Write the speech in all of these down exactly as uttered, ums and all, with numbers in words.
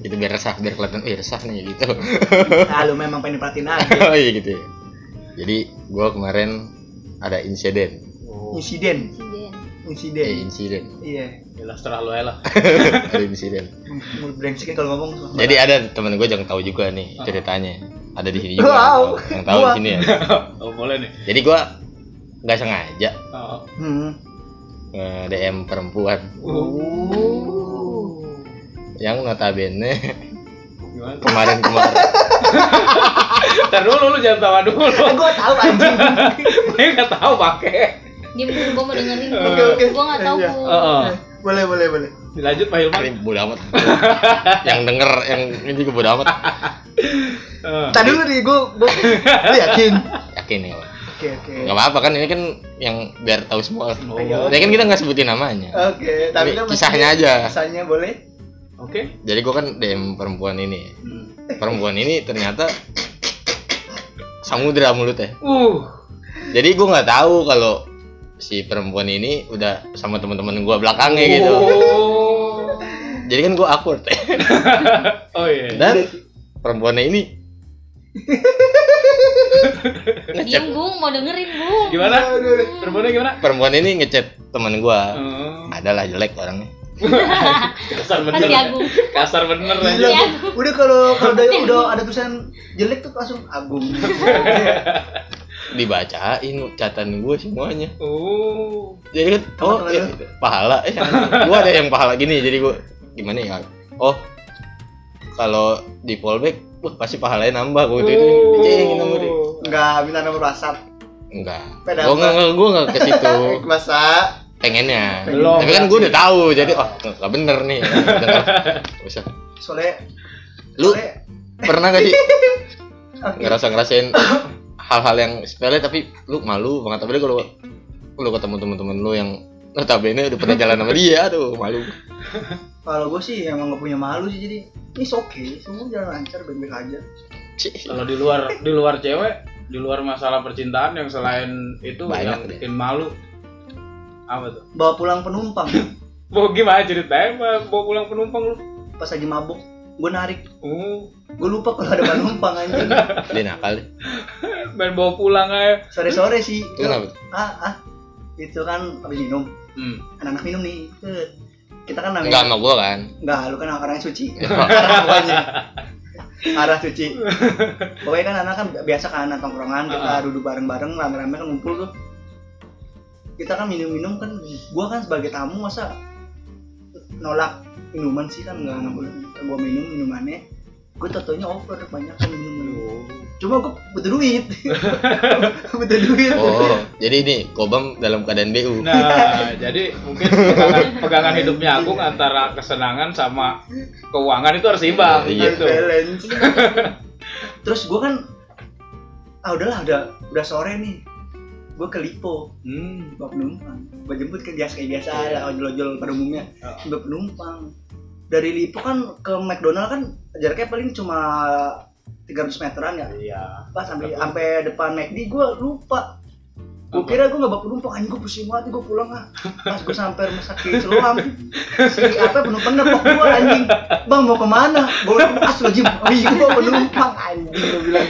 Itu biar resah, biar kelihatan eh resah nih gitu. Nah, lu memang pengen perhatiin aja. Oh iya gitu ya. Jadi gue kemarin ada insiden. Oh. Insiden. Insiden. Insiden. Eh insiden. Iya. Jelas terah lu lah. Ada insiden. Mulut brengsek kan kalau ngomong. Jadi ada temen gue yang tahu juga nih ceritanya. Ada di sini juga. Wow. Yang tahu di sini ya. Oh boleh nih. Jadi gue nggak sengaja Oh. Hmm. nge-D M perempuan Oh. yang notabene Gimana? kemarin-kemarin. Ntar dulu lu jangan tawa dulu. Gue tahu anjing. Gue nggak tahu pakai. Diam dulu, gue mau dengerin. Oke oke. Gue nggak tahu. Iya. Heeh. Boleh boleh boleh. Dilanjut Pak Hilman. Ini bodo amat. Yang denger yang ini juga bodo amat. Heeh. Tadi dulu nih gue gue yakin. Yakin ya. Oke oke. Gak apa-apa kan ini kan yang biar tahu semua. Oh. Ya kan kita nggak sebutin namanya. Oke, tapi kan Kisahnya aja. Kisahnya boleh? Oke. Jadi gue kan D M perempuan ini. Hmm. Perempuan ini ternyata samudra mulutnya. Uh. Jadi gue nggak tahu kalau si perempuan ini udah sama teman-teman gue belakangnya gitu. Oh. Jadi kan gue awkward. Oh iya. Dan perempuannya ini Diam, Bung, mau dengerin, Bung. Gimana? Perempuannya gimana? perempuan ini ngechat teman gue. Oh. Adalah jelek orangnya. Kasar bener. Pasti Agung. Kasar bener Gila, aja. Iya. udah kalau kalau udah, udah ada tulisan jelek tuh langsung Agung. Dibacain catatan gue semuanya. Oh. Jadi kan oh Teman-teman ya, pahala eh gue ada yang pahala gini jadi gue gimana ya oh kalau di fallback wah pasti pahalanya nambah gue itu Oh. dicengin sama dia. Enggak minta nomor WhatsApp. Enggak Beda gue apa? nggak gue nggak ke situ Masa pengennya Belum, tapi kan berarti. gue udah tahu jadi oh nggak bener nih denger usah soalnya lu soalnya pernah gak sih oke. ngerasa ngerasain hal-hal yang sepele tapi lu malu banget tapi kalau lu ketemu temen-temen lu yang notabene udah pernah jalan sama dia aduh malu. Kalau gue sih emang gak punya malu sih jadi ini oke semua jalan lancar baik-baik aja. Kalau di luar di luar cewek, di luar masalah percintaan yang selain itu Banyak yang deh. bikin malu apa tuh? Bawa pulang penumpang Mau gimana ceritanya? Pak? Bawa pulang penumpang lu? pas lagi mabuk gue narik Oh, gue lupa kalau ada penumpang anjing. Dia nakal deh. main bawa pulang aja. Sore-sore sih. Itu kenapa? Ah ah itu kan habis minum Hmm. anak-anak minum nih. Eh, kita kan namanya Enggak sama gua kan. enggak lu kan orang yang suci. Arah pokoknya. Arah suci. Pokoknya kan anak kan biasa kan anak tongkrongan kita Ah. duduk bareng-bareng rame-rame kan ngumpul tuh. Kita kan minum-minum kan gua kan sebagai tamu masa nolak minuman sih kan enggak boleh. Gua minum minumannya gue totonya over banyak kan minum. Cuma gue butuh duit. butuh duit. Oh, jadi ini Kobam dalam keadaan B U. Nah, jadi mungkin pegangan, pegangan hidupnya Agung antara kesenangan sama keuangan itu harus imbang Iya. gitu. Balance. Terus gue kan ah udahlah udah udah sore nih. Gue ke Lipo, Hmm. bawa penumpang. Gue jemput ke biasa kayak biasa Iya. ada ojol-ojol pada umumnya. Oh. Bawa penumpang. Dari Lipo kan ke McDonald kan jaraknya paling cuma tiga ratus meteran ya. Iya. Pas sampai sampai depan McD gue lupa. Gue kira gue gak bawa penumpang, anjing gue pusing banget, gue pulang lah. Pas gue sampai rumah sakit Siloam, si apa penumpang nepok gue anjing. Bang mau kemana? Gue asal jim, oh iya gue bawa penumpang anjing gue bilang.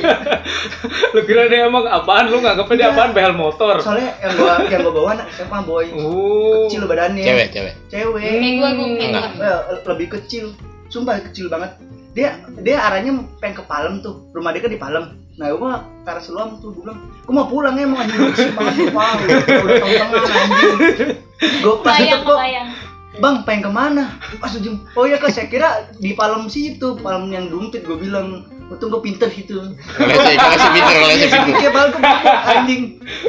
Lu kira dia emang apaan? Lu nganggapnya dia apaan? Behel motor. Soalnya yang gue yang gue bawa anak S M A boy, Oh. kecil badannya. Cewek, cewek. Cewek. Kayak gue, gue kayak Enggak. gue. Eh, lebih kecil, sumpah kecil banget. Dia dia arahnya pengen ke Palem tuh, rumah dia kan di Palem. Nah gue mah ke arah Siloam tuh, gue bilang, gue mau pulang ya mau anjing gue kesini banget, wow, udah tengah anjing. Gue pas itu Bayang, kok, bayang. bang pengen kemana? Pas ujung, oh ya kak saya kira di Palem situ, Palem yang Dumpit gue bilang, untung gue pinter gitu. Kalau saya kalau saya pinter, kalau saya pinter. Iya Palem gue mabok anjing.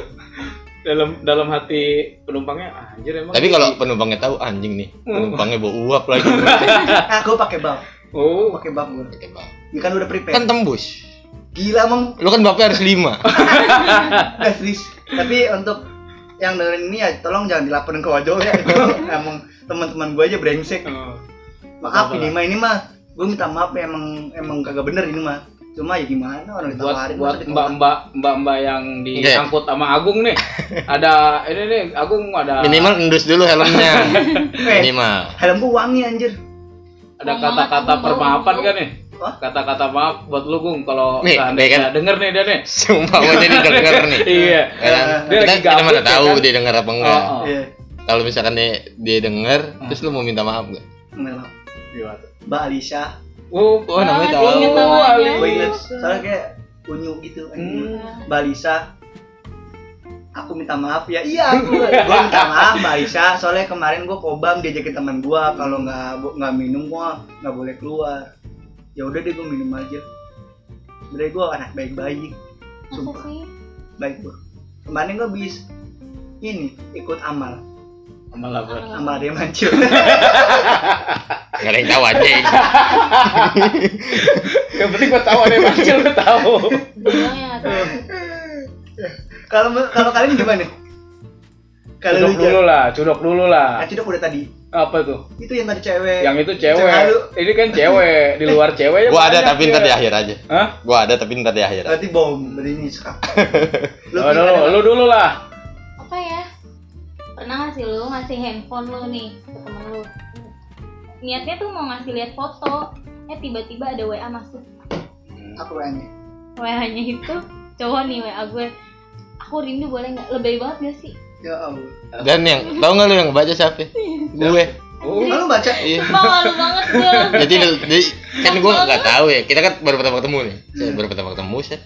Dalam dalam hati penumpangnya anjir emang. Tapi kalau penumpangnya tahu anjing nih, penumpangnya bawa uap lagi. Nah gue pakai bab, Oh. pakai bab gue. Oke, Bang. Ini kan udah prepare. Kan tembus. Gila emang. Lu kan bapaknya harus lima. Nggak serius. Tapi untuk yang dengerin ini ya tolong jangan dilaporin ke ojol ya. Itu emang teman-teman gue aja brengsek. Oh. Maaf Apa-apa ini lah. mah ini mah gue minta maaf ya, emang emang kagak bener ini mah. Cuma ya gimana orang Buat ditawarin buat masa ditolak. mbak-mbak mbak-mbak yang diangkut sama Agung nih. Ada ini nih Agung ada Minimal endus dulu helmnya. Eh, Minimal. helm gue wangi anjir. ada Ngomong kata-kata apa, permaafan ngomong. kan nih? Hah? Kata-kata maaf buat lu Gung kalau Nih, seandainya kan? denger nih dia nih. Sumpah mau jadi denger nih. Iya. Ya kan? Dia Kita, lagi kita gabut, mana ya tahu kan? dia denger apa enggak. Oh, oh. Iya. Kalau misalkan dia, dia denger, Hmm. terus lu mau minta maaf enggak? Kenal. Gimana? Mbak Alisa. Oh, Oh, namanya Ah, tahu. inget namanya. Ali. Gue inget. Soalnya kayak unyu gitu. Hmm. Mbak Alisa. Aku minta maaf ya. Iya, aku. Gue minta maaf Mbak Alisa. Soalnya kemarin gue kobam diajakin teman gue. Kalau nggak nggak minum gue nggak boleh keluar. Ya udah deh gue minum aja. Sebenernya gue anak baik-baik. Masa Sumpah sih? baik gue. Kemarin gue bis ini ikut amal. malah ber. Amal dia mancil. Enggak ada yang tahu anjing. Yang penting gua tahu ada yang mancil, gua tahu. Bilang ya nggak tahu. Kalau kalau kalian gimana? Kalau Cudok lu dulu lah, cudok dulu lah. Nah, cudok udah tadi. Apa tuh? Itu yang tadi cewek. Yang itu cewek. Lalu. Ini kan cewek, di luar cewek ya. Gua ada banyak tapi ya. ntar di akhir aja. Hah? Gua ada tapi ntar di akhir. Berarti bom, berarti ini sekarang. Lu Oh, dulu, lu dulu lah. Apa ya? Pernah nggak sih lu ngasih handphone lu nih ke temen lu? Niatnya tuh mau ngasih lihat foto, eh tiba-tiba ada W A masuk. aku nanya. W A-nya itu cowok nih W A gue. Aku rindu boleh nggak? Lebay banget gak sih? Ya Allah. Dan yang tahu nggak lu yang baca siapa? Gue. Oh, Lalu baca. Iya. Malu banget gue. Jadi, jadi kan gue nggak tahu ya. Kita kan baru pertama ketemu nih. Saya baru pertama ketemu sih.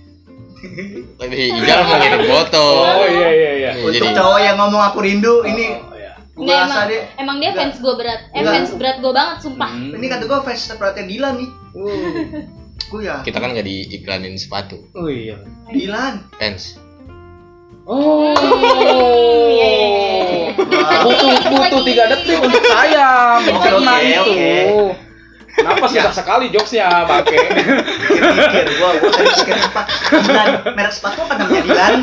Lagi Ijal mau ngirim foto. Oh iya iya iya. Nih, Untuk jadi cowok yang ngomong aku rindu, ini Oh, iya. gue Nggak, rasa emang, deh. emang dia Nggak. fans gue berat. Eh Nggak. fans berat gue banget sumpah. Hmm. Ini kata gue fans seperti Dilan nih. Gue ya. kita kan nggak diiklanin sepatu. Oh iya. Dilan. Fans. Oh. Iya, iya, iya. Wah. Butuh butuh tiga detik untuk sayang. Oke, Karena oke, itu. oke. Kenapa susah sekali jokesnya pakai? Mikir, gue gue tadi pikir apa? Dilan, merek sepatu apa namanya Dilan?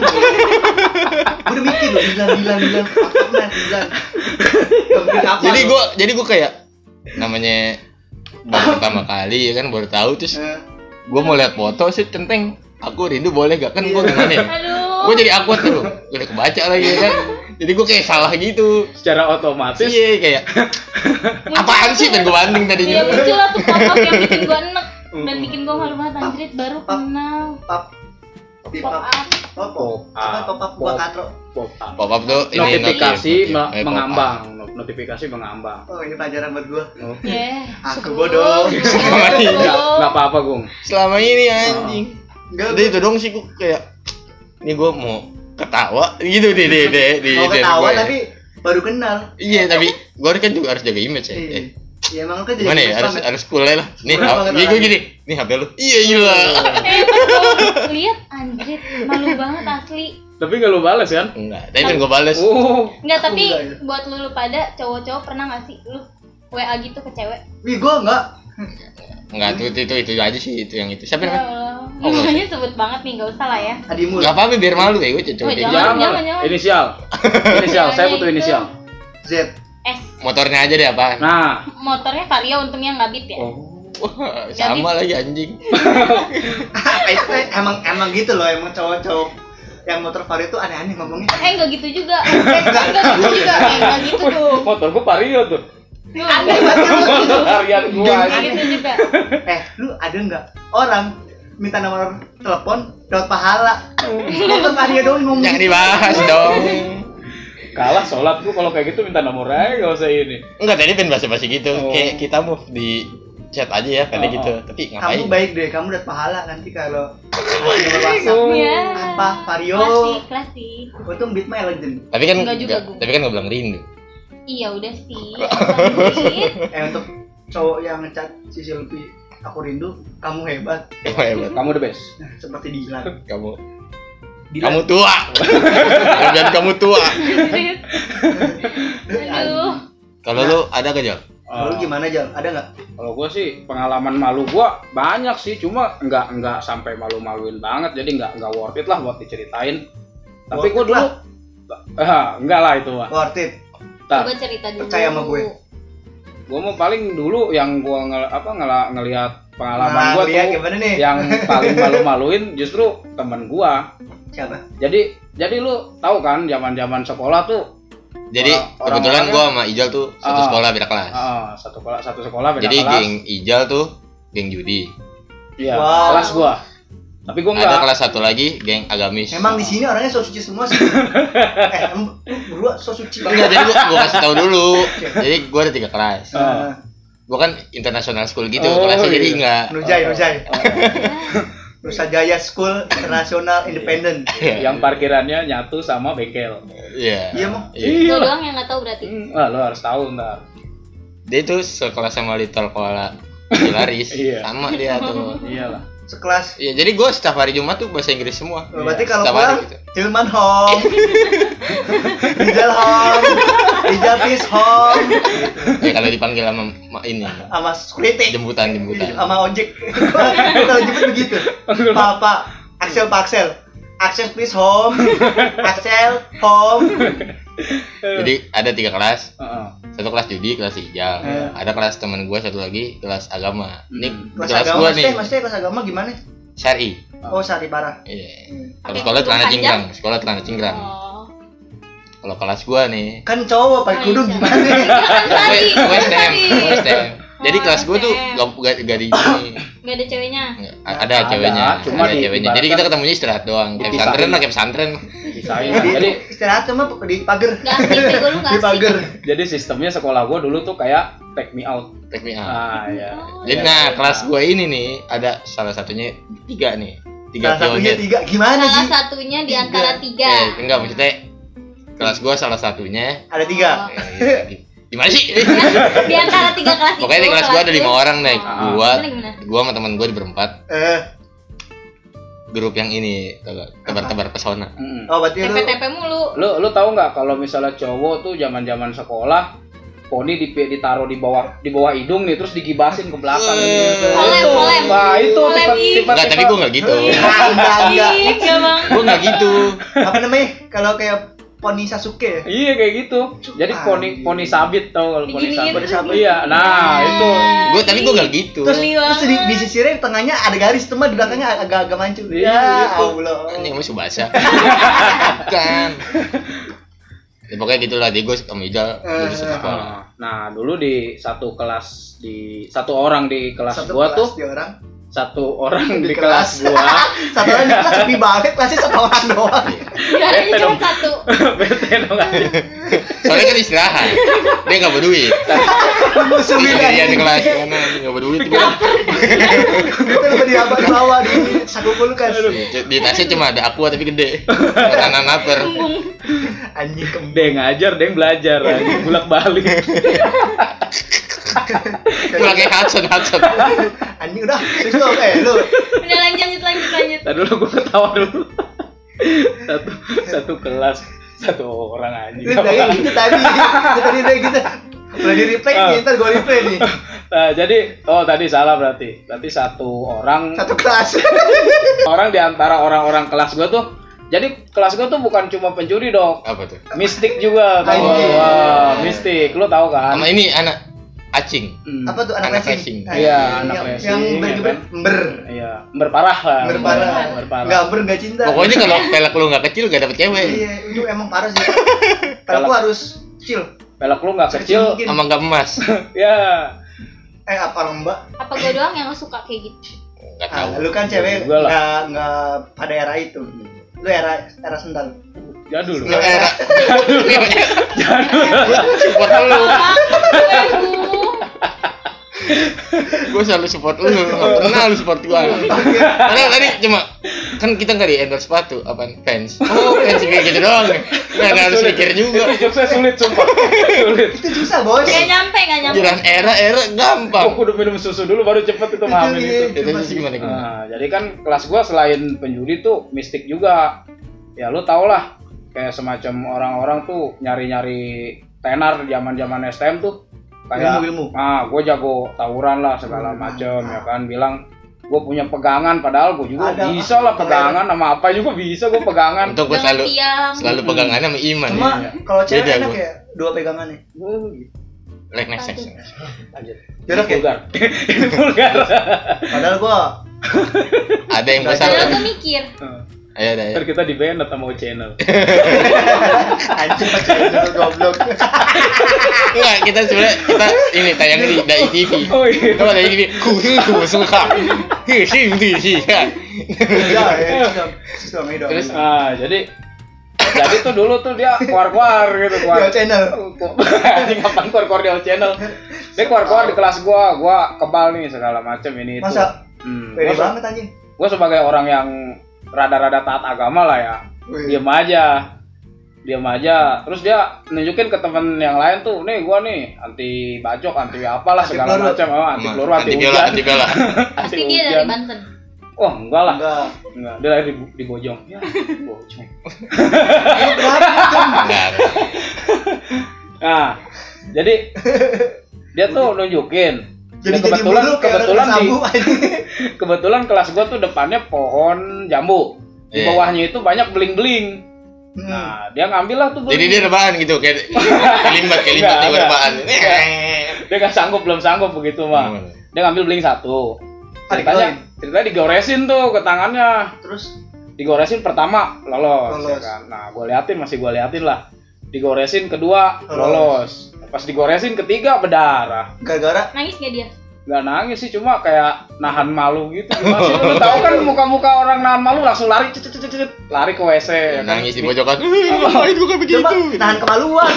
Gue udah mikir loh, Dilan, Dilan, Dilan, apa Dilan, Dilan. Gak mungkin apa. Jadi loh. gue jadi gue kayak namanya baru pertama kali ya kan baru tahu terus Eh, gue mau lihat foto sih centeng. Aku rindu boleh gak kan gue gimana ya? Aduh. Gue jadi awkward tuh. Gue udah kebaca lagi ya kan. Jadi gue kayak salah gitu. Secara otomatis Iya kayak apaan sih pengen gue banding Iya tadinya. muncul lah tuh pop-up yang bikin gue enek dan bikin gue malu banget anjrit baru Pap. kenal pap, di pap, pop-up. pop, pop, apa pop up gua katro. pop up. Pop up tuh ini Notifikasi notif, me- notif. Eh, pop up. mengambang, Not- notifikasi mengambang. Oh ini pelajaran buat gua. Yeah. Aku bodoh. Selama ini Enggak, enggak apa-apa, Gung. Selama ini anjing. Enggak, Udah itu dong sih gue kayak ini gue mau ketawa gitu deh deh deh di mau chat ketawa gue ya. tapi baru kenal. Iya tapi gue kan juga harus jaga image ya. Iya. Eh, Ya emang lu kan jadi Gimana ya gemes harus banget. harus cool lah. Nih, Kurang banget gue orangnya. gini. Nih H P lu. Iya gila. Eh pas gue lihat anjrit malu banget asli. Tapi enggak lu balas kan? Enggak, tapi kan gue bales. Oh. Enggak tapi Enggak, ya. buat lu, lu pada cowok-cowok pernah nggak sih lu W A gitu ke cewek? Wih gua enggak. Enggak, itu, itu itu itu aja sih itu yang itu. Siapa Ya namanya? Allah. Oh, nggak Namanya sebut banget nih, nggak usah lah ya. Adimu. Enggak apa-apa biar malu ya gue cewek. Oh, kayak jangan. gitu. Jangan, jangan. Inisial. Inisial, saya butuh Itu. inisial. Z. S Motornya aja deh apaan? Nah. motornya Vario untungnya nggak beat ya. Oh. Wah, sama lagi anjing. Apa itu eh, emang emang gitu loh emang cowok-cowok yang motor Vario itu aneh-aneh ngomongnya. Eh nggak gitu juga. Eh nggak gitu juga. Eh nggak gitu tuh. Motor gua Vario tuh. Aneh banget kan lu. Motor harian gua. Nggak anjing. gitu juga. Eh, lu ada nggak orang minta nomor telepon dapat pahala? Motor Vario doang ngomong. Jangan gitu. dibahas dong. Kalah sholat gua kalau kayak gitu minta nomor aja enggak usah ini. Enggak, tadi pengen basa-basi gitu. Oh. Kayak kita move di chat aja ya, kali Oh, gitu. oh. Tapi Kamu ngapain? baik deh, kamu dapat pahala nanti kalau ngasih nomor WhatsApp. Oh. Iya. Apa Vario? Klasik, klasik. Untung beat my legend. Tapi kan Enggak juga, nggak- Gung. tapi kan enggak bilang rindu. Iya udah sih. Lanjut. Eh untuk cowok yang ngecat si Silvi, aku rindu, kamu hebat. Kamu hebat. Kamu the best. Nah, seperti Dilan. Kamu Dilan. kamu tua. Jangan kamu tua. Aduh. Kalau lu ada gak, Jal? Lalu gimana Jal? Ada nggak? Kalau gua sih pengalaman malu gua banyak sih, cuma nggak nggak sampai malu-maluin banget, jadi nggak nggak worth it lah buat diceritain. Tapi Worth gua it dulu, lah. ah enggak lah itu mah. Worth it. Ntar, Coba cerita dulu. Percaya sama gue. gua mau paling dulu yang gua ngel, apa ngela, ngelihat pengalaman Nah, gua lihat tuh gimana nih? yang paling malu-maluin justru temen gua. Siapa? Jadi jadi lu tahu kan zaman-zaman sekolah tuh Jadi Orang- kebetulan orang-orangnya- gua sama Ijal tuh satu Ah. sekolah beda kelas. Ah, satu sekolah satu sekolah beda Jadi kelas. geng Ijal tuh geng judi. Iya, Wow. kelas gua. Tapi gua enggak. Ada kelas satu lagi geng agamis. Emang di sini orangnya so suci semua sih. eh, em, lu berdua so suci Enggak, jadi gua, gua kasih tahu dulu. Jadi gua ada tiga kelas. Eh, Gua kan international school gitu, Oh, kelasnya iya. jadi enggak. Nujai, Nujai. Oh, Nusa Jaya School Internasional Independent. yang parkirannya nyatu sama bengkel. Iya. Iya, Mong. Iya. Lo doang yang nggak tahu berarti. Hmm, ah, lo harus tahu ntar. Dia tuh sekelas sama Little Koala Hilaris. Iya. Sama dia tuh. Iyalah. Sekelas. Iya, jadi gua setiap hari Jumat tuh bahasa Inggris semua. Oh, berarti kalau Setiap hari pulang gitu. Tilman home. Rijal home. Rijal peace home. Ya kalau dipanggil sama ma- ini Sama security. jemputan jemputan. Sama ojek. Gua kalau jemput begitu. Pak, Pak. Axel, Pak Axel. Axel please home. Axel home. Jadi ada tiga kelas. Heeh. Satu kelas judi, kelas hijau. Eh. Ada kelas teman gua satu lagi kelas agama. Ini Hmm. di Kelas kelas agama gua nih. maksudnya, maksudnya kelas agama gimana? Syari. Oh, sari parah. Iya. Hmm. Kalau Pakai sekolah kerudung celana panjang? cingkrang, sekolah celana cingkrang. Oh. Kalau kelas gua nih, Kan cowok pakai Oh, kerudung iya. gimana? Kan tadi. W- W S T M, Tadi. W S T M. Jadi Oh, kelas gua tuh W S T M. gak, gak, gak di sini. Nggak ada ceweknya. Nggak, ada Ada, ceweknya, cuma ada di- ceweknya. Jadi ibaratkan- kita ketemunya istirahat doang. Kayak Dipisahin. pesantren lah, kayak pesantren. Pisahin. Jadi Jadi istirahat sama di pagar. Gak asik bego lu nggak Di asik. pagar. jadi sistemnya sekolah gua dulu tuh kayak take me out. Take me out. Ah, ya. Oh, Jadi Ya, nah ya. kelas gua ini nih ada salah satunya tiga nih, tiga Salah satunya pionir. tiga. Gimana Salah sih? satunya di Tiga. antara tiga. Eh, enggak maksudnya kelas gua salah satunya. Ada tiga. Oh. Eh, di- Gimana sih? Di antara tiga kelas itu. Pokoknya di kelas gua ada lima lu- orang nih. Oh. Gua, Gimana, gimana? gua sama teman gua di berempat. Eh, Grup yang ini tebar-tebar pesona. Mm-mm. oh berarti lu T P T P mulu. Lu lu tahu nggak kalau misalnya cowok tuh zaman-zaman sekolah poni di, ditaruh di bawah di bawah hidung nih terus digibasin ke belakang Eh. gitu. Olem, Itu. olem. Wah, itu Olem, tipe ih. tipe Enggak, tapi gua enggak gitu. Ah, enggak enggak. Ih, enggak bang. Gua enggak gitu. Apa namanya? Kalau kayak poni Sasuke. Iya kayak gitu. Jadi Ah, poni poni sabit tau kalau poni Diginiin. sabit. Poni sabit. Iya, nah itu. Gua tapi gua enggak gitu. Terus, Geli terus di, banget. di sisirnya di tengahnya ada garis, teman di belakangnya agak-agak mancung. Iya, Ya itu. Allah. Anjing masih basah. Kan. Ya, pokoknya gitulah di gua sama Ijal dulu satu sekolah. Ah, Nah, dulu di satu kelas di satu orang di kelas Satu gua kelas tuh di orang. satu orang Di di, kelas. kelas gua Satu orang di kelas sepi banget, kelasnya satu orang doang. Biasanya cuma satu. bete dong aja. Soalnya kan istirahat. Dia enggak berduit. Musuhin Iya di aja. kelas karena enggak berduit gua. Itu lebih di abang bawah di saku kulkas. Di tasnya cuma ada aqua tapi gede. Kanan naper. Anjing kembang. Deng ngajar, deng belajar, anjing bolak-balik. Gua kayak Hudson Hudson. Anjing udah, terus lu eh lu Udah lanjut lanjut lanjut lanjut. Tadi dulu gua ketawa dulu. Satu satu kelas satu orang anjing. lu kayak gitu tadi. Lu tadi udah gitu. Udah di replay nih, ntar gua replay nih. Nah, jadi oh tadi salah berarti. Berarti satu orang Satu kelas. orang di antara orang-orang kelas gua tuh. Jadi kelas gua tuh bukan cuma pencuri dong. Apa tuh? Mistik juga tahu. Anjing. Wah, mistik. Lu tahu kan? Sama ini anak acing. Hmm. Apa tuh anak Anak racing? racing. Nah, Iya, yang- anak yang- racing, Yang ya ber-geber kan? ber. Iya, berparah lah. Berparah. Berparah. Enggak ber enggak cinta. Pokoknya kalau pelek lu nggak kecil gak dapet cewek. Iya, itu emang parah sih. Kalau gua harus chill. Pelek lu nggak kecil. mungkin. Sama nggak emas. Ya. Eh apa lembak? Apa gue doang yang suka kayak gitu? Nggak Ah, tahu. lu kan cewek Gua lah. enggak enggak pada era itu. Lu era era sendal. Jadul. Lu era. Gue support lu. Gue selalu support lu. Nggak pernah lu support gua. Karena tadi cuma kan kita nggak di endorse sepatu, apa fans. Oh fans kayak gitu doang. Nggak nggak harus mikir juga. Jokesnya sulit sumpah. Sulit. Itu susah, Bos. Gak nyampe gak nyampe. Jalan era era gampang. Aku udah minum susu dulu baru cepet itu mahamin Itu, itu. iya. Itu sih gimana gimana. Nah, jadi kan kelas gua selain penjudi tuh mistik juga. Ya lu tau lah kayak semacam orang-orang tuh nyari-nyari tenar zaman-zaman S T M tuh kayak Ilmu-ilmu. ah gue jago tawuran lah segala macem ya kan bilang gue punya pegangan padahal gue juga Ada. bisa lah pegangan sama apa juga bisa gue pegangan. Untuk gue Dengan selalu tiang. selalu pegangannya sama Iman. Cuma Ya. kalau cewek Beda enak gua. ya dua pegangannya. Like next next. Lanjut. Jorok ya? Vulgar. Ini vulgar. Padahal gua Ada yang gue Padahal Padahal salah. gue mikir. Ada Ayo dah. Ntar kita di banned sama O channel. Anjing pacar itu goblok. Enggak, kita sebenarnya kita ini tayang di Dai T V. Oh iya. Kalau Dai T V, ku ku suka. Hi sih sih. Ya, ya, sudah sudah main dong. Terus, Ah, jadi jadi tuh dulu tuh dia keluar-keluar gitu, keluar. Di channel. Ini kapan keluar-keluar di O channel? Dia keluar-keluar di kelas gua, gua kebal nih segala macam ini itu. Masa? Hmm. Pede Gua, banget anjing. gua sebagai orang yang rada-rada taat agama lah ya. Wih. Diam aja. Diam aja. Terus dia nunjukin ke temen yang lain tuh, nih gua nih anti bacok, anti apalah Anti segala peluru. macam, oh, anti Emang, peluru, anti anti biola, hujan. anti biola. Pasti Anti dia hujan. dari Banten. Wah, enggak lah. Enggak. Enggak, dia lahir di, di Bojong. Ya, Bojong. Lu berapa jam? Enggak. Nah, jadi dia tuh nunjukin. Jadi Dan jadi kebetulan mulu kayak kebetulan orang di sabu anjing. kebetulan kelas gua tuh depannya pohon jambu. Di Iya. bawahnya itu banyak beling-beling. Hmm. Nah, dia ngambil lah tuh beling. Jadi dia rebahan gitu kayak kelimbat kelimbat Enggak, dia enggak. rebahan. Dia nggak sanggup, belum sanggup begitu mah. Dia ngambil beling satu. Adik Ceritanya, ceritanya digoresin tuh ke tangannya. Terus Digoresin pertama lolos, Lolos. ya kan. Nah, gue liatin masih gue liatin lah. Digoresin kedua Lolos. lolos. Pas digoresin ketiga berdarah. gara-gara Nangis gak dia? Nggak nangis sih, cuma kayak nahan malu gitu. Gimana sih? Lu tahu kan muka-muka orang nahan malu langsung lari, cet, cet, cet, cet, lari ke W C. ya kan? Nangis di pojokan. Itu bukan begitu. coba nahan kemaluan.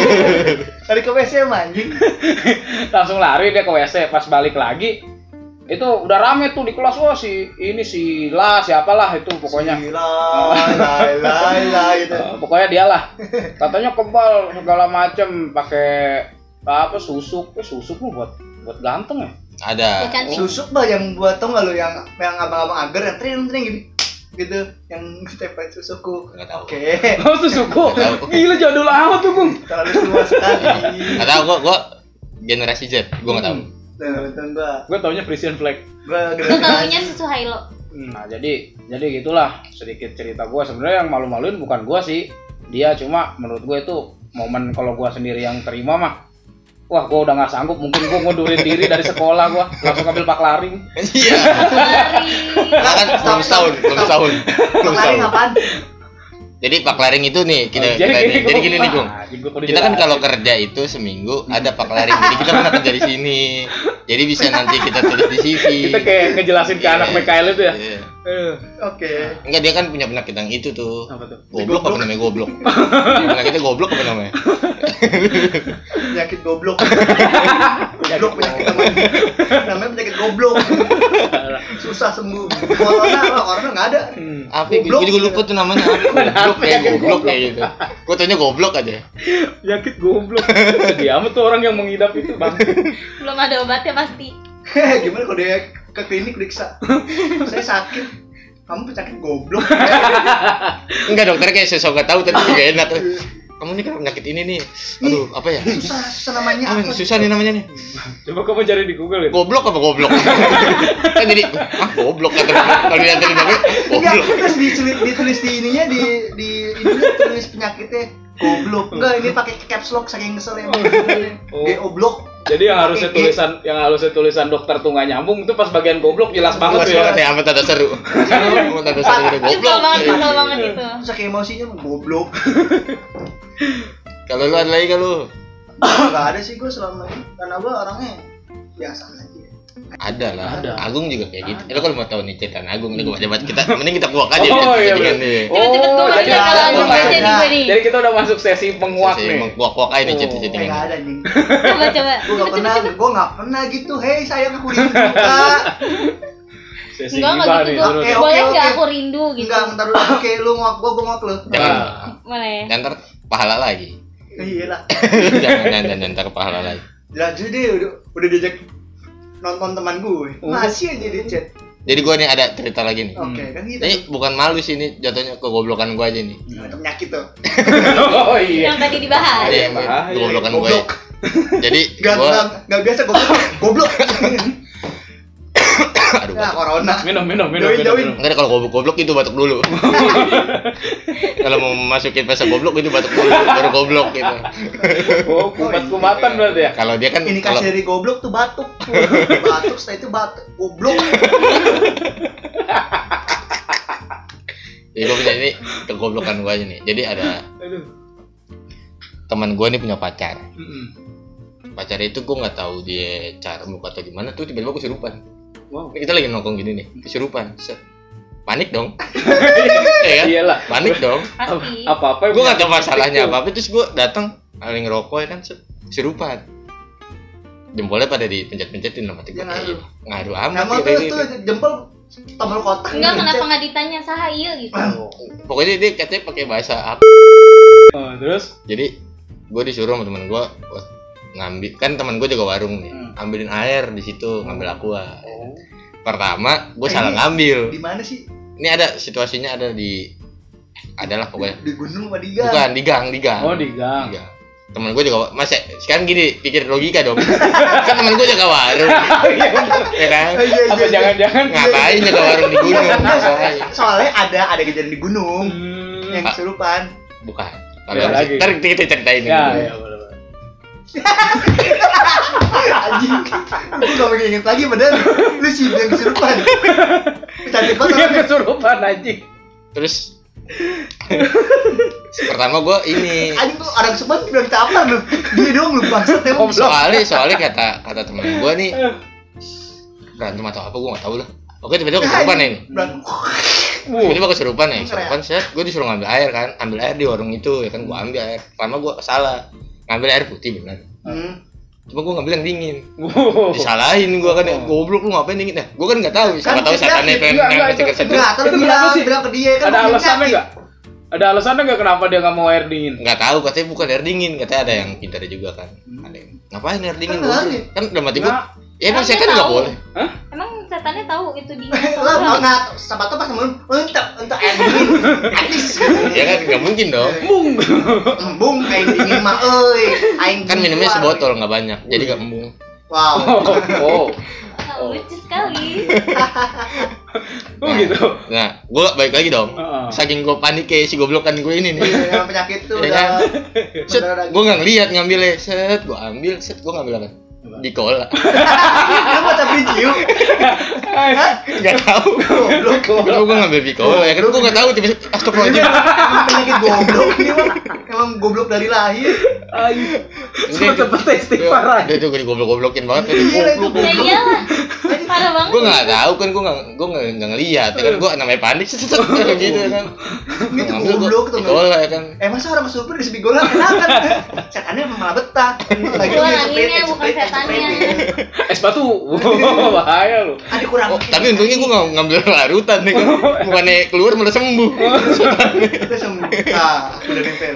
Dari ke W C mah, anjing. Langsung lari dia ke W C. Pas balik lagi, itu udah rame tuh di kelas. Wah, si ini si La siapalah itu pokoknya. Gila, lai lai lai gitu. Eh, pokoknya dia lah. Katanya kebal segala macem, pakai apa susuk, eh, susuk mah buat buat ganteng ya. Ada. Ya cantik. Susuk bah yang buat tau nggak lu yang yang abang-abang agar yang tring tring gitu gitu yang ditempel susukku. Nggak tahu. Oke. Oh, susukku. Tahu. Gila jadul amat tuh, Bung. Terlalu tua sekali. Nggak tahu gua gua generasi Z, gua nggak tahu. Tuh, betul gua. Gue taunya Frisian Flag. Gua Lu generasi. taunya susu Hilo. Nah, jadi jadi gitulah sedikit cerita gua. Sebenarnya yang malu-maluin bukan gua sih. Dia cuma menurut gue itu momen kalau gua sendiri yang terima mah. Wah, gua udah nggak sanggup, mungkin gua ngundurin diri dari sekolah gua, langsung ambil paklaring. Iya. Lari. Kan belum setahun, belum setahun. Belum Kemarin setahun. apaan? Jadi Pak Laring itu nih kita, Oh, jadi kita gini, nih. Jadi gua- gini nih, Gung. ah, anjing, gua kudu Kita kan jelasin. kalau kerja itu seminggu ada Pak Laring. Jadi kita pernah kerja di sini. Jadi bisa nanti kita tulis di C V. Kita kayak ngejelasin ke Iya. anak M K L itu ya. Iya. Eh, Oke. Enggak, dia kan punya penyakit yang itu tuh. apa tuh? Goblok apa namanya goblok? Penyakitnya goblok apa namanya? Penyakit goblok. Goblok penyakit namanya. Namanya penyakit goblok. Susah sembuh. Corona lah, corona nggak ada. Hmm. Apa? Gue Goblok. juga lupa tuh namanya. Apa? Goblok kayak goblok kayak gitu. Gue taunya goblok aja. Penyakit goblok. Sedih amat tuh orang yang mengidap itu, Bang. Belum ada obatnya pasti. Gimana kalau dia ke klinik periksa? Saya sakit. Kamu penyakit goblok. Enggak, dokter kayak sosok gak tahu tapi juga enak. Kamu nih kan penyakit ini nih. Aduh, apa ya? Susah, susah namanya Apa apa? yang susah nih namanya nih? Coba kamu cari di Google ya. Goblok apa goblok? Kan jadi ah goblok kata kalau lihat dari namanya Enggak, goblok. terus ditulis, ditulis di ininya di di ininya tulis penyakitnya goblok. Enggak, ini pakai caps lock saking kesel ya. Oh. G oblok. Jadi yang harusnya Oke, tulisan yang harusnya tulisan dokter tuh nggak nyambung itu pas bagian goblok jelas banget Mas tuh ya. banget ya, amat ada seru. Amat ada seru udah Kesel goblok. banget, kesel banget itu. Saking emosinya mah goblok. Kalau lu ada lagi kalau Enggak ada sih gue selama ini karena gue orangnya biasa aja. ada lah. Ada. Agung juga kayak gitu. Eh, lu kalau mau tahu nih cerita Agung nih gua debat kita, mending kita kuak aja. Oh, iya, jadikan bener. nih. Cepet-cepet gue jadi baca kalau ada, Agung ada. baca nih gue nih. Jadi kita udah masuk sesi penguak Saya nih. mengkuak-kuak aja nih Oh. cerita Kayak cerita enggak ada anjing. Coba coba. Gue enggak pernah, gue enggak pernah gitu. Hei, sayang aku rindu Kak. Sesi Enggak enggak gibah gitu nih, gue. terus. Eh, oke, Boleh oke. nggak aku rindu gitu? Enggak, entar dulu. Oke, lu ngok gue, gue ngok lu. Jangan. Ah. Boleh. Dan ntar pahala lagi. Iya lah. Jangan jangan jangan ntar pahala lagi. Lanjut deh, udah udah diajak nonton teman gue. Oh. Masih aja di chat. Jadi gua nih ada cerita lagi nih. Oke, kan gitu. Ini bukan malu sih, ini jatuhnya kegoblokan gua aja nih. Nah, itu penyakit tuh. Oh iya. Yang tadi dibahas. Iya, bahaya. kegoblokan gua. ya. Goblok. Jadi Enggak gua enggak enggak biasa goblok. Goblok. aduh Nah, batuk. corona. Minum minum minum Join, minum. join. minum. Enggak ada, kalau goblok goblok itu batuk dulu. Kalau mau masukin fase goblok itu batuk dulu baru goblok gitu. Oh, kumat-kumatan berarti ya. Kalau dia kan Ini kalau kasih dari goblok tuh batuk. Batuk setelah itu batuk. Goblok. Jadi gue punya ini kegoblokan gue aja nih. Jadi ada teman gue nih punya pacar. Pacar itu gue nggak tahu dia cara muka atau gimana tuh tiba-tiba kesurupan. Wow. Ini kita lagi nongkrong gini nih, kesurupan. Set. Panik dong. Ya kan? Iyalah. Panik dong. Pasti. Apa-apa Gue nggak tahu masalahnya apa-apa, terus gue datang lagi ngerokok ya kan, set. Kesurupan. Jempolnya pada dipencet-pencetin sama tiga Ya, ngaruh. ngaruh amat. Nama ya, tuh ini. tuh jempol tombol kotak. Enggak, kenapa nggak ditanya saha ieu gitu. Pokoknya dia katanya pakai bahasa apa. Oh, terus Jadi gue disuruh sama temen gue buat ngambil, kan temen gue jaga warung nih, Hmm. ambilin air di situ, ngambil aqua. oh. Pertama gue Eh, salah ini- ngambil. Di mana sih? Ini ada situasinya ada di, adalah pokoknya Di gunung apa di gang? bukan di gang, di gang. Oh, di gang. Di gang. Temen gue juga, mas sekarang gini pikir logika dong. Kan temen gue jaga warung, ya kan? Oh, iya, iya, Apa iya. jangan-jangan Ngapain jaga warung di gunung? Enggak, Ngapain? soalnya ada ada kejadian di gunung Hmm. yang kesurupan. Bukan. Beda Kalau lagi. ntar kita ceritain Ya, dulu. ya, boleh, boleh. Anjing. Gue gak pengen inget lagi padahal lu sih yang kesurupan. Cantik banget. Dia orangnya. kesurupan anjing. Terus pertama gue ini Anjing tuh orang kesurupan bilang apa lu? Dia doang lu bangsat emang. Goblok. soalnya soalnya kata kata temen gue nih berantem atau apa gue nggak tahu lah. Oke tiba-tiba kesurupan nih. Berantem. Wuh. Tiba-tiba kesurupan nih. Keren. Kesurupan set, gue disuruh ngambil air kan, ambil air di warung itu ya kan, gue ambil air. Pertama gue salah ngambil air putih benar. Hmm. Cuma gue ngambil yang dingin. Wuh. Disalahin gue kan, Oh. goblok lu ngapain dingin? Nah, gue kan nggak tahu. Siapa Kan tahu saya setannya yakin. pengen Enggak, yang enggak, masih itu- kesedot. Enggak, terus Itu bilang kenapa sih? bilang ke dia kan. Ada mungkin alasannya yakin. enggak? Ada alasannya enggak kenapa dia enggak mau air dingin? Nggak tahu, katanya bukan air dingin, katanya ada yang pintar juga kan. Hmm. Ada yang ngapain air dingin? Kan goblok? lari. Kan udah mati gue. Nah, Ya emang Emang dia setan nggak tahu? boleh. Emang setannya tahu itu dia. Lah, mau nggak sahabat tuh pas mau untuk untuk air dingin. Atis. Ya kan nggak mungkin dong. Bung. Embung air dingin mah euy. Aing Kan minumnya keluar. sebotol nggak banyak, jadi nggak embung. Wow. Oh. Oh, lucu sekali. Oh gitu. Nah, gue balik lagi dong. Heeh. Saking gue panik kayak si goblokan gue ini nih. Yang penyakit tuh Ya udah kan? Set, mendarah gue nggak ngeliat ngambilnya. Set, gue ambil. Set, gue ngambil apa? Di cola. Lu mau tapi ciu. Nggak tahu. Goblok. Gue gue ngambil di cola ya kan. Gue nggak tahu tiba-tiba. Astagfirullahaladzim. Emang penyakit goblok ini mah. Emang goblok dari lahir. Ayo. Cepet-cepet istighfar aja. Dia tuh gue goblok-goblokin banget. Iya lah, itu Goblok. Ya iyalah. Parah banget. Gue nggak tahu kan, gue nggak gue nggak nggak ngeliat ya kan. Gue namanya panik. Set, set, set, gitu ya kan. Ini tuh Ngambil gua goblok tuh. di cola ya kan. Eh masa orang kesurupan di sebigola enakan? Setannya malah betah. Lagi Gua dia anginnya, sepret, bukan sepret, setannya. sepret. Es batu. Wah, bahaya lu. Ada kurang. Oh, tapi untungnya gue nggak ngambil larutan nih kan. Bukannya keluar malah sembuh. Kita sembuh. Ah, udah nempel.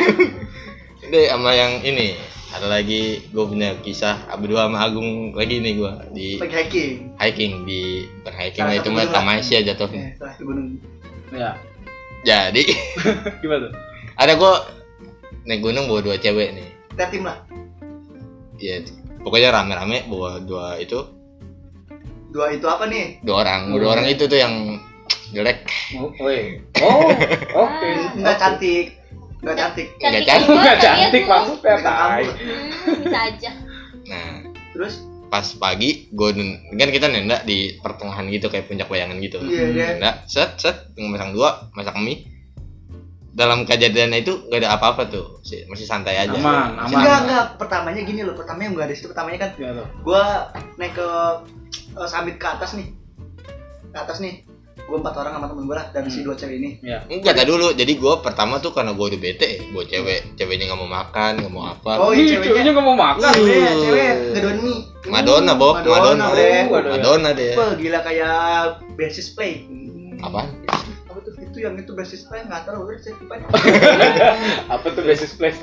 Deh sama yang ini ada lagi gue punya kisah berdua sama Agung lagi nih gue di Lagi hiking. hiking di bukan hiking Salah lah satu itu mah gunung lah. Tamasya jatuhnya. Eh, salah satu gunung. Ya. Jadi Gimana tuh? ada gue naik gunung bawa dua cewek nih. Kita tim lah. Ya pokoknya rame-rame bawa dua itu Dua itu apa nih? dua orang dua orang itu tuh yang jelek. Oh, woi. Oh, oke. Enggak cantik. Enggak cantik. Nggak Cantik cantik. juga Enggak kan dia cantik tuh. maksudnya, Pegang tai. kamu. Hmm, bisa aja. Nah Terus pas pagi gue kan kita nenda di pertengahan gitu kayak puncak bayangan gitu. iya dia. Nenda set set masang dua masak mie. Dalam kejadian itu gak ada apa-apa tuh, Si- masih santai aja. Aman, Masih aman. Enggak, aman. enggak. Pertamanya gini loh. Pertamanya enggak ada situ. Pertamanya kan Gimana tuh? gua naik ke eh, summit ke atas nih. Ke atas nih. Gua empat orang sama temen gua lah dan si Hmm. dua cewek ini. Ya. Enggak, tak dulu. Jadi gue pertama tuh karena gue udah bete, gue cewek, ceweknya nggak mau makan, nggak mau apa. Oh, Ih, iya, ceweknya. ceweknya nggak mau makan. Uh. Cewek, cewek gedon mie. Madonna, Bob, Madonna, Madonna, Bre. Waduh. Madonna deh. Wah, gila kayak basis play. Apaan? Apa tuh itu yang itu basis play enggak tahu udah saya lupa. Apa tuh basis place?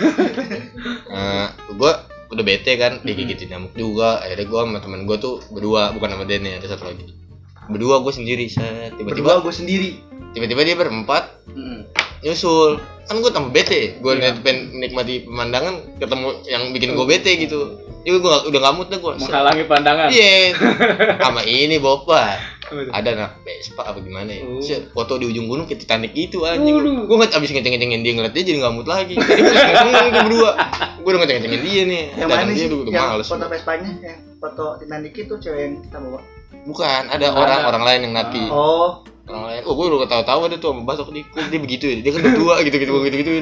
Uh, gue udah bete kan, digigitin nyamuk juga. Akhirnya gue sama temen gue tuh berdua, bukan sama Denny, ada satu lagi. Berdua gue sendiri, set. Berdua Tiba-tiba, gua sendiri. tiba-tiba dia berempat Hmm. nyusul. Kan gue tambah bete. Gue Iya. pengen nikmati pemandangan, ketemu yang bikin gue bete gitu. Jadi gue udah nggak mood dah gue. Menghalangi pandangan. Iya, sama ini Boba. Apa tuh? Ada anak Vespa apa gimana ya? Oh. Set, foto di ujung gunung kayak Titanic gitu anjing. Waduh. Gue nggak abis ngeceng-ngecengin dia ngeliat dia jadi nggak mood lagi. Jadi gue seneng tuh berdua. Gue udah ngeceng-ngecengin dia nih. Yang Dan mana dia sih? udah, udah Yang males. foto Vespanya, yang foto Titanic itu cewek yang kita bawa. Bukan, ada Ada. orang-orang lain yang naki. Oh, orang lain. Oh, gue udah ketawa-tawa deh tuh sama Batok nih. Kok dia begitu ya? Dia kan udah tua gitu-gitu gue gitu-gituin.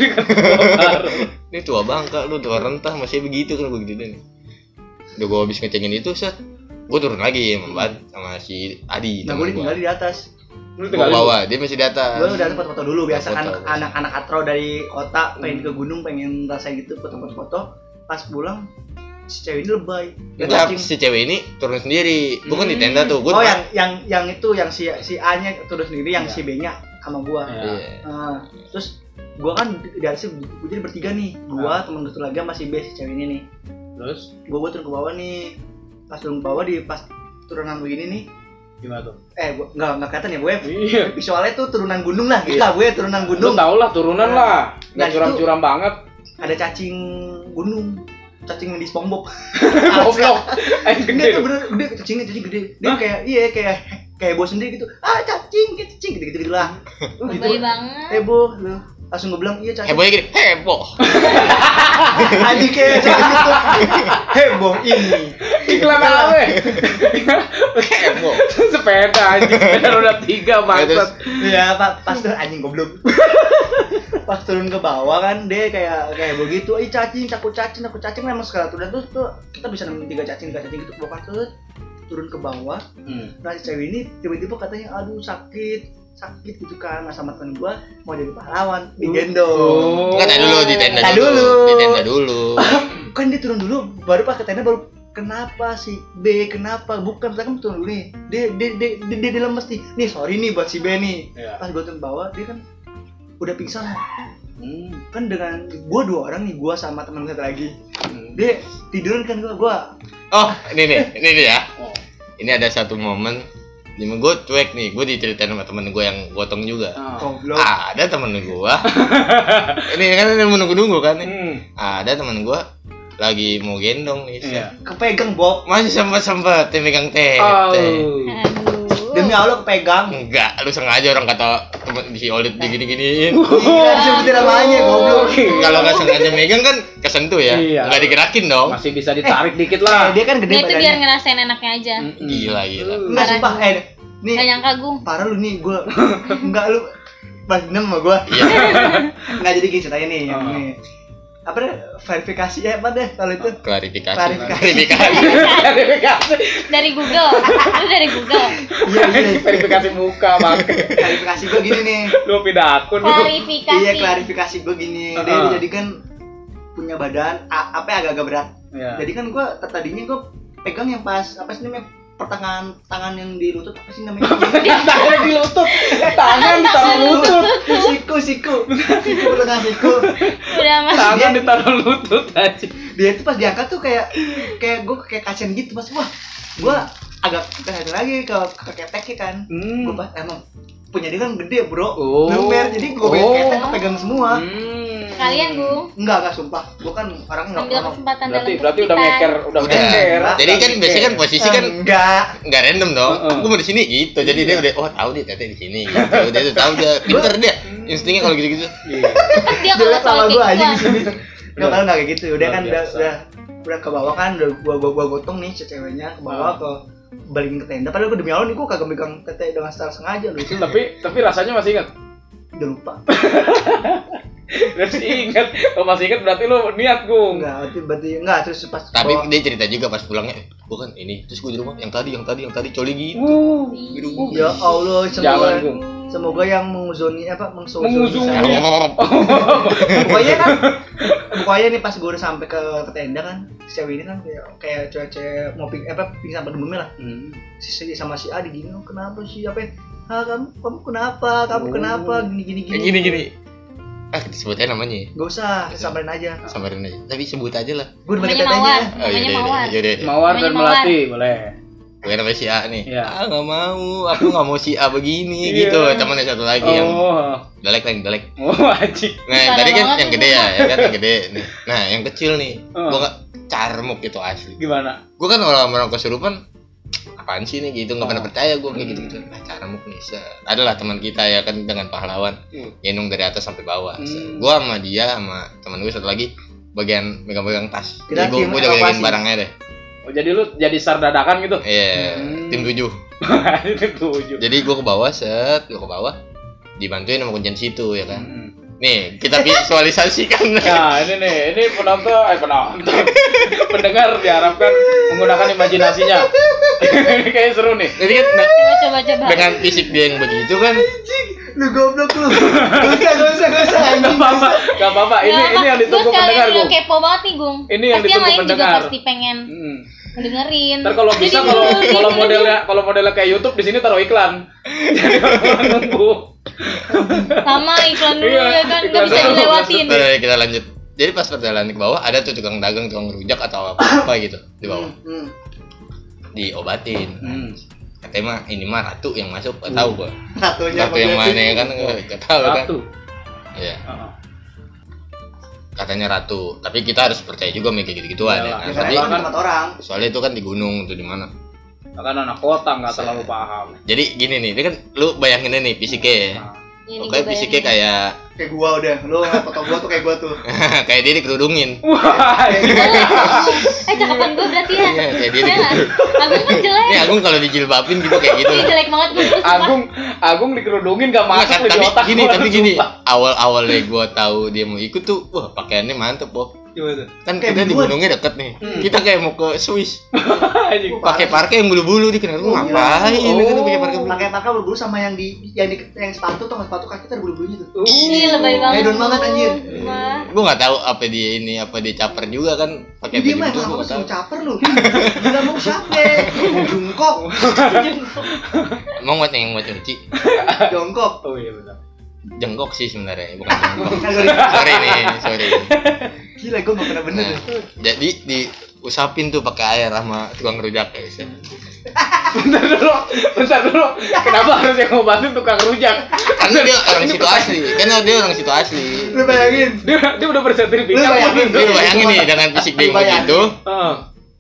Ini tua bangka lu, tua rentah masih begitu kan gue gitu-gituin. Udah gue habis ngecengin itu, set. Gue turun lagi sama Bat sama si Adi. Nah, gue tinggal di atas. Gue bawah, dia masih di atas. Gue udah foto-foto dulu, biasa kan Foto. anak-anak atro dari kota pengen ke gunung, pengen rasain gitu, foto-foto. Pas pulang si cewek ini lebay. Dia Enggak, cacing. si cewek ini turun sendiri. Bukan di tenda tuh. Oh, Gua yang yang yang itu yang si si A-nya turun sendiri, yang Iya. si B-nya sama gua. Iya. Iya. Nah, terus gua kan di atas gua jadi bertiga nih. Gua, temen gue lagi sama si B, si cewek ini nih. Terus Gua gua turun ke bawah nih. Pas turun ke bawah di pas turunan begini nih. gimana tuh? Eh, gua enggak enggak kelihatan ya, gue. Iya. Visualnya tuh turunan gunung lah, gitu Iya. lah gue turunan Lu gunung. tau lah turunan Nah, lah. nah Nggak itu- curam-curam banget. Ada cacing gunung. Cacing yang di SpongeBob. Goblok. Eh Gede gede tuh lu. bener, gede cacingnya jadi gede. Dia Hah? kayak iya kayak kayak heboh sendiri gitu. Ah, cacing, cacing gitu-gitu gitu lah. Lebay banget. Heboh lu. Langsung gue bilang iya cacing. Hebohnya gini, heboh. Anjing kayak cacing gitu. Heboh ini. Iklan apa? Heboh. Sepeda anjing, sepeda roda tiga bangsat. Iya, Pak, pas tuh anjing goblok. Pas turun ke bawah kan dia kayak kayak begitu, ih cacing, takut cacing, takut cacing memang sekali tuh dan tuh, tuh kita bisa nemuin tiga cacing, tiga cacing gitu bukan tuh turun ke bawah. Hmm. Nah si cewek ini tiba-tiba katanya aduh sakit, sakit gitu kan. Nah sama temen gua mau jadi pahlawan, digendong. Oh. Kan dulu di tenda Tar dulu. dulu. Di tenda dulu. Kan dia turun dulu, baru pas ke tenda baru kenapa si B, kenapa? Bukan, kita kan turun dulu nih. Dia dia dia dia, dia, dia lemes nih. Nih sorry nih buat si B nih. Iya. Pas gua turun bawah dia kan udah pingsan. Hmm. Kan dengan gua dua orang nih, gua sama teman satu lagi. Hmm. Dia tiduran kan gua, gua Oh, ini nih, ini nih ya. Oh. Ini ada satu momen dimana gue cuek nih, gue diceritain sama temen gue yang gotong juga. Ah. goblok. Ada temen gue, ini kan ini menunggu-nunggu kan nih. Hmm. Ada temen gue lagi mau gendong nih, set. Iya. Kepegang, Bob. Masih sempet sempet megang teh. Oh. Aduh. Demi Allah kepegang. Enggak, lu sengaja orang kata temen di si Olit digini-giniin. Iya, disebutin namanya, goblok. Kalau nggak sengaja megang kan kesentuh ya, Iya. nggak digerakin dong. Masih bisa ditarik dikit Eh, lah. dia kan gede Dia itu biar badannya. ngerasain enaknya aja. Mm-mm. Gila gila. Enggak sumpah, eh nih Gak nyangka Gung. parah lu nih, gua enggak lu pas dendam sama gua. Iya. Enggak jadi gini ceritanya nih, yang Oh. ini. Apa deh verifikasi ya apa deh kalau itu? Klarifikasi. Klarifikasi. Klarifikasi. Verifikasi. Dari Google. Lu dari Google. Iya, iya. Verifikasi muka bang. Klarifikasi gua gini nih. Lu pindah akun lu. Klarifikasi. Iya, klarifikasi gua gini. Dia Uh-uh. jadi kan punya badan a- apa ya, agak-agak berat. Iya. Jadi kan gua tadinya gua pegang yang pas apa sih namanya? Pertengahan tangan yang di lutut apa sih namanya? Tangan di lutut. Tangan ditaruh lutut. siku, siku. Siku pertengahan siku. Udah mas. Tangan ditaruh lutut aja. Dia itu pas diangkat tuh kayak kayak gua kayak kasian gitu pas wah. Gua agak kasian lagi ke ke keteknya kan. Hmm. Gua pas emang punya dia kan gede, Bro. Oh. Lumer jadi gua Oh. ketek kepegang semua. Hmm. Kalian Gung. Enggak, enggak sumpah. Gua kan orangnya enggak Ambil pernah. kesempatan Berarti dalam berarti udah kesempitan. ngeker, udah Udah. ngeker. Jadi kan biasanya kan posisi kan enggak. nggak random dong. Heeh. Gue mau di sini gitu. Jadi dia udah oh tahu dia teteh di sini. Gitu. Dia tuh tahu dia pinter dia. Instingnya kalau gitu-gitu. Iya. Tetep dia kalau Jelek sama soal gua kayak aja di gitu. sini. Enggak tahu enggak kayak gitu. Udah Luar kan udah biasa. udah udah ke bawah kan udah gua gua, gua gotong nih si ceweknya ke bawah ke balikin ke tenda. Padahal gua demi Allah nih gua kagak megang tete dengan secara sengaja loh. Itu Tapi tapi rasanya masih ingat. udah lupa. Masih ingat. Kalau masih ingat berarti lu niat, Gung. Enggak, berarti berarti enggak terus pas Tapi bawa- dia cerita juga pas pulangnya, gue kan ini, terus gue di rumah yang tadi, yang tadi, yang tadi coli gitu. Uh. Di rumah. ya Allah Jangan, semoga Gung. semoga yang menguzoni apa mengsuzoni Menguzoni. saya. Pokoknya kan pokoknya nih pas gue udah sampai ke, ke tenda kan si cewek ini kan kayak kayak cewek-cewek mau ping apa pingsan pada umumnya lah. Hmm. Si, si sama si A digini, oh, kenapa sih apa ya? Ah, kamu kamu kenapa kamu Oh. kenapa gini gini gini Kayak gini gini. Ah, kita sebut aja namanya. gak usah samperin aja Samarin aja. Tapi sebut aja lah. gue udah pakai Namanya tetenya Mawar. Oh, Namanya yaudah, Mawar. yaudah, yaudah. Mawar dan Namanya Mawar. Melati, boleh. Gue namanya si A nih. Iya. Ah, nggak mau. Aku nggak mau si A begini Iya. gitu. Temannya satu lagi yang Oh. galak lah, yang galak. Oh, anjing. Nah, Parah tadi kan banget yang tuh. gede ya, ya kan yang gede nih. Nah, yang kecil nih. Oh. Gue nggak carmuk gitu asli. Gimana? Gue kan orang-orang kesurupan apaan sih nih gitu, nggak pernah Oh. percaya gue kayak Hmm. gitu-gitu. Nah, carmuk nih, set. Adalah teman kita ya kan dengan pahlawan Hmm. gendong dari atas sampai bawah. Hmm. Gue sama dia sama teman gue satu lagi bagian megang-megang tas. Kita Jadi gue tim gue jagain evakuasi. barangnya deh. Oh, jadi lu jadi sar dadakan gitu? Iya, Hmm. tim tujuh. Tujuh. Jadi gua ke bawah, set, gua ke bawah. Dibantuin sama kuncian situ ya kan. Hmm. Nih, kita visualisasikan. Nah, ini nih, ini penonton, eh penonton, pendengar diharapkan menggunakan imajinasinya. Ini kayaknya seru nih. Jadi kan nah, Coba coba coba. dengan fisik dia yang begitu kan, Lu goblok lu. Gak usah, gak usah, gak usah. Gak anjing. apa-apa, gak apa-apa. Ini ini yang ditunggu pendengar, Gung. Gue kepo banget nih, Gung. Ini yang Pasti ditunggu lain juga pendengar. pasti pengen Hmm. ngedengerin. Ntar kalau bisa Jadi kalau dulu, kalau dulu, modelnya kalau modelnya kayak YouTube di sini taruh iklan. Jadi orang nunggu. sama iklan dulu Iya, ya kan, iklan nggak bisa dulu, dilewatin. Nah, kita lanjut. Jadi pas perjalanan ke bawah ada tuh tukang dagang, tukang rujak atau apa gitu di bawah. Hmm, hmm. Diobatin. Hmm. Katanya mah ini mah ratu yang masuk, gak tahu gua. Ratunya Ratu yang mana ya kan gak tahu kan. Satu. Iya. Heeh. Katanya ratu, tapi kita harus percaya juga sama kayak gitu-gituan ya Iyalah. kan. Ya, Tapi karena kan tempat orang. soalnya itu kan di gunung tuh di mana. Kan anak kota nggak terlalu paham. Jadi gini nih, ini kan lu bayangin nih fisiknya ya. Nah, Ini Oke, gua fisiknya bayangin. kayak Kayak gua udah. Lu foto gua tuh kayak gua tuh. kayak dia dikerudungin. wah, ini Eh cakapan gue berarti ya. Iya, kayak dia Ya nggak? dikerudungin. Agung kan jelek. Ini Agung kalau dijilbabin gitu kayak gitu. Ih, jelek banget gue. Agung Agung dikerudungin gak Nggak, masuk kan, di tapi otak gini, gua, tapi gini, sumpah. awal-awalnya gua tahu dia mau ikut tuh, wah pakaiannya mantep, Bob. Gimana? Kan Kayak kita di biduan. gunungnya deket nih. Hmm. Kita kayak mau ke Swiss. Anjing. Pakai parke yang bulu-bulu di kenal Oh, ngapain iya. gitu pakai parke bulu. Pakai pakai bulu sama yang di yang di yang sepatu tuh, sepatu kaki tuh ada bulu-bulunya tuh. Ih, lebay banget. Hedon banget anjir. Wah. Gua nggak tahu apa dia ini, apa dia caper juga kan pakai Dia baju mah itu gua emang nggak tahu. mau caper lu. Gila mau siapa? Mau jungkok. Emang buat yang buat nyuci Jongkok. Oh iya benar. jengkok sih sebenarnya, bukan jengkok. Kan gua- Sorry nih, sorry. Gila gua enggak pernah bener. Nah, jadi diusapin tuh pakai air sama tukang rujak ya. Bisa. Bentar dulu, bentar dulu. Kenapa harus yang ngobatin tukang rujak? Karena dia orang situ asli, karena dia orang situ asli. Lu bayangin. Dia dia udah bersertifikat. Lu bayangin, Lu bayangin nih dengan fisik dia yang Lu bayangin. begitu, Heeh.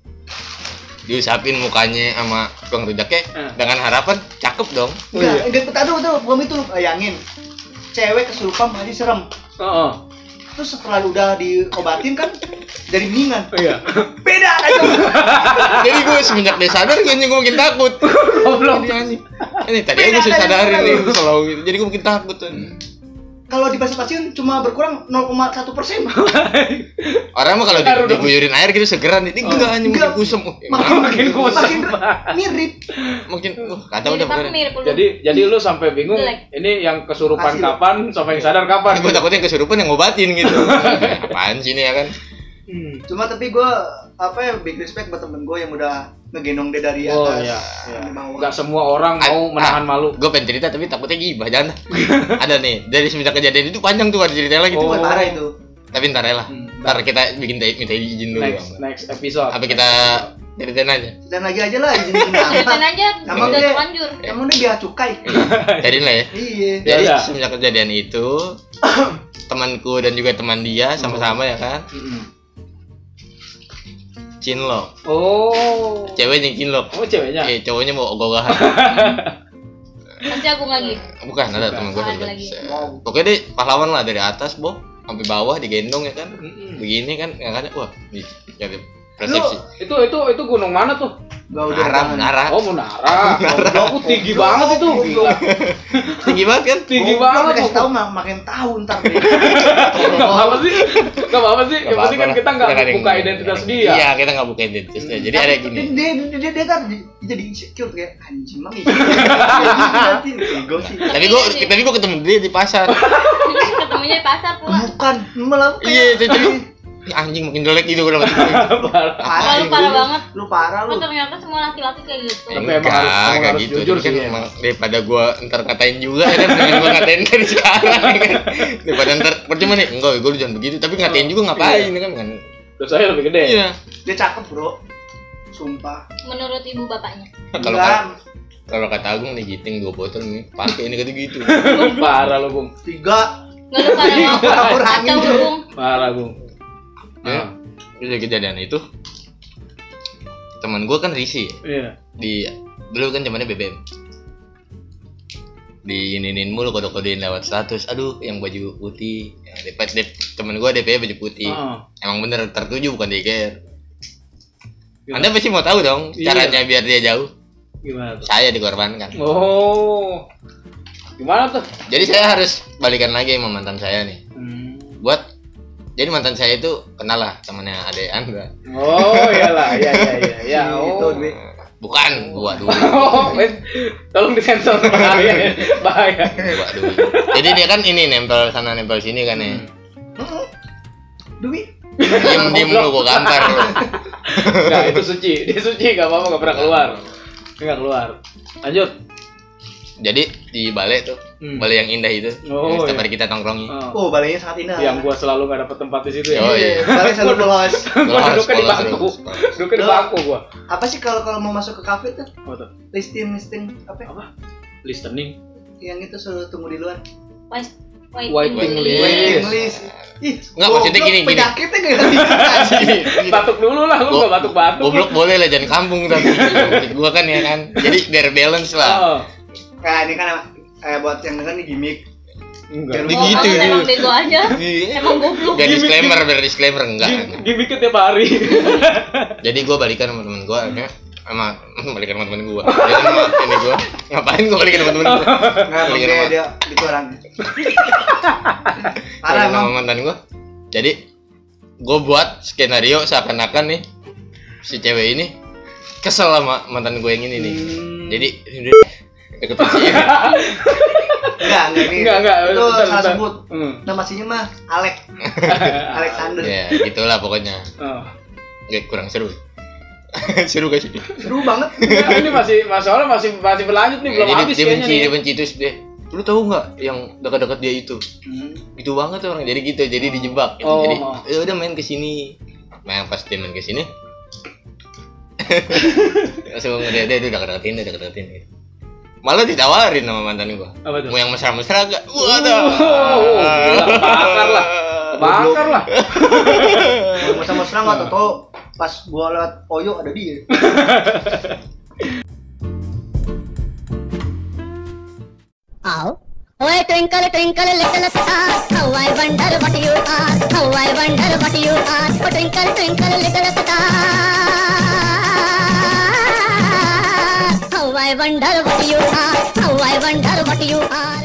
diusapin mukanya sama tukang rujaknya Eh. dengan harapan cakep dong. Oh, iya. Enggak, enggak tahu tuh, belum itu lu bayangin. Cewek kesurupan mandi serem. Heeh. Terus setelah lu udah diobatin kan jadi mendingan. Iya. Beda aja. Jadi gue semenjak dia sadar kayaknya gue makin takut. Goblok. Ini anjing. Ini tadi aja gue sadarin nih selalu gitu. Jadi gue makin takut tuh. Kalau dipasien-pasien cuma berkurang nol koma satu persen. Orang mah kalau di- Baru dong. diguyurin air gitu segeran, ini enggak anjing Enggak. makin kusem. Oh, Makin Makin kusem. Makin mirip. Makin uh, kata Mirip udah apa pokoknya. mirip lu? Jadi jadi lu sampai bingung Jelek. ini yang kesurupan Kasih lu. kapan sampai yang sadar kapan? Gue takutnya kesurupan yang ngobatin gitu. Apaan sih ini ya kan? Hmm. Cuma tapi gue apa ya big respect buat temen gue yang udah ngegendong dia dari atas. Oh iya, iya. di bawah. Enggak semua orang mau Ah, menahan ah. malu. Gue pengen cerita tapi takutnya gibah jangan. Ada nih dari semenjak kejadian itu panjang tuh ada ceritanya lagi Itu tuh. buat parah itu. Tapi ntar ya lah. Hmm, Ntar kita bikin date minta izin dulu. Next next episode. Apa kita ceritain aja? Dan lagi aja lah izin izin Ceritain nama. aja, Sama udah dia. terlanjur. Kamu nih biar cukai. Cariin lah ya. Iya. Ya Jadi udah. semenjak kejadian itu temanku dan juga teman dia sama-sama ya kan Mm-mm. cinlok. Oh. Cewek yang cinlok. Oh ceweknya. Eh cowoknya mau ogah-ogahan. Pasti Agung lagi. Bukan ada teman gue Ada juga. lagi. Wow. Pokoknya dia pahlawan lah dari atas, Bo, sampai bawah digendong ya kan. Mm-mm. Begini kan ya kan wah, nih jadi Lu, persepsi. itu itu itu gunung mana tuh? Gak udah. Menara, menara. Oh Munara. Goblok, tinggi banget itu. Gila. Tinggi banget kan? Tinggi Gua banget dikasih tuh. tahu mak makin tahu ntar. Gak apa-apa sih. Gak apa-apa sih. Yang penting kan kita nggak Kita ada yang- buka identitas dia. Iya, kita nggak buka identitasnya. Jadi ada gini. Dia dia dia dia kan jadi insecure kayak anjing mami. Ego sih. Tapi gua tapi gua ketemu dia di pasar. Ketemunya di pasar pula. Bukan malah Iya, jadi ini anjing makin jelek gitu gua dapat. parah. Wah, lu parah banget. Lu parah Oh, lu. ternyata semua laki-laki kayak gitu. Tapi emang Enggak, harus- emang enggak harus gitu. jujur Tapi kan sih, emang daripada gua ntar ngatain juga ya kan, dengan gua ngatain dari sekarang ya kan. Daripada ntar percuma nih, enggak gua jangan begitu, tapi ngatain juga ngapain ya kan kan. Terus saya lebih gede. Iya. Dia cakep, Bro. Sumpah. Menurut ibu bapaknya. Kalau Enggak. kata kalau kata Agung nih giting dua botol nih, pakai ini kata gitu. Parah lu, Bung. Tiga. Nggak lu parah banget. Kurangin Kacau tuh. Bung. Parah, Bung. Ya. Terus kejadian itu teman gua kan risih Iya. di dulu kan zamannya B B M. Diininin mulu kode-kodein lewat status. Aduh, yang baju putih. Ya, D P, D P, temen gua D P baju putih. Heeh. Emang bener tertuju bukan D K R. Gimana? Anda pasti mau tahu dong Iya. caranya biar dia jauh. Gimana tuh? Saya dikorbankan. Oh. Gimana tuh? Jadi saya harus balikan lagi sama mantan saya nih. Hmm. Buat jadi mantan saya itu kenal lah temannya adek Anda. Oh, iyalah, iya iya iya. Ya, Itu, oh. Dwi. Bukan, gua dulu. Oh, wait. Tolong disensor bahaya. Bahaya. Gua dulu. Jadi dia kan ini nempel sana nempel sini kan ya. Heeh. Dwi. Diem diem lu gua gambar lu. Enggak, itu suci. Dia suci, enggak apa-apa, enggak pernah keluar. Dia enggak keluar. Lanjut. Jadi di balai tuh, Hmm. balai yang indah itu. Oh, yang setiap iya. hari kita tongkrongi. Oh. Oh, balainya sangat indah. Yang gua selalu enggak dapet tempat di situ ya. Yo, iya. Balai selalu polos. Gua Polos, duduknya di polos, bangku. polos, polos. Duduknya di Loh. bangku gua. Apa sih kalau kalau mau masuk ke kafe tuh? Apa tuh? Listing listing apa? ya? Apa? Listening. Yang itu suruh tunggu di luar. Wait, Waiting waiting list. Waiting list. Ih, Nggak, maksudnya goblok, gini, gini. Penyakitnya gak ngerti. Gini. Batuk dulu lah, lu Go- enggak batuk-batuk. Goblok boleh lah, jangan kampung tapi. Maksud gua kan ya kan. Jadi biar balance lah. Oh. Nah, ini kan eh buat yang denger nih gimmick. Enggak. Di- Oh, gitu, kamu gitu. emang bego aja. Emang goblok. Biar disclaimer, biar disclaimer enggak. Gimiknya tiap hari. Jadi gua balikan sama temen gua akhirnya sama balikan sama temen gua. Dia sama ini gua. Ngapain gua balikan sama temen gua? Enggak, emang Balikan dia sama dia itu orang. Parah balikan sama emang. mantan gua. Jadi gua buat skenario seakan-akan nih si cewek ini kesel sama mantan gua yang ini nih. Hmm. Jadi deketin si ini. Enggak, enggak ini. Enggak, enggak. Itu Bentar, salah bentar. sebut. Hmm. Nama aslinya mah Alek. Alexander. Ya, gitulah pokoknya. Oh. Nggak, kurang seru. Seru gak sih? Seru banget. Nah, ini masih masalah masih masih berlanjut nih, belum Jadi habis dia kayaknya benci, nih. dia benci terus dia. Lu tahu nggak yang dekat-dekat dia itu? Hmm. Gitu banget orang. Jadi gitu, jadi dijebak. Gitu. Oh. Jadi ya udah main ke sini. Main pas dia main ke sini. Langsung dia dia udah deketin, udah deketin gitu. Malah ditawarin sama mantan gua. Apa tuh? Mau yang mesra-mesra gak? Waduh. Oh, gila, kebakar lah. Kebakar lah. Kalau sama serang enggak tahu pas gua lewat Oyo ada dia. Ow. Oh, twinkle, twinkle, little star, how I wonder what you are, how I wonder what you are. Oh, twinkle, twinkle, little star, how I wonder what you are, how I wonder what you are.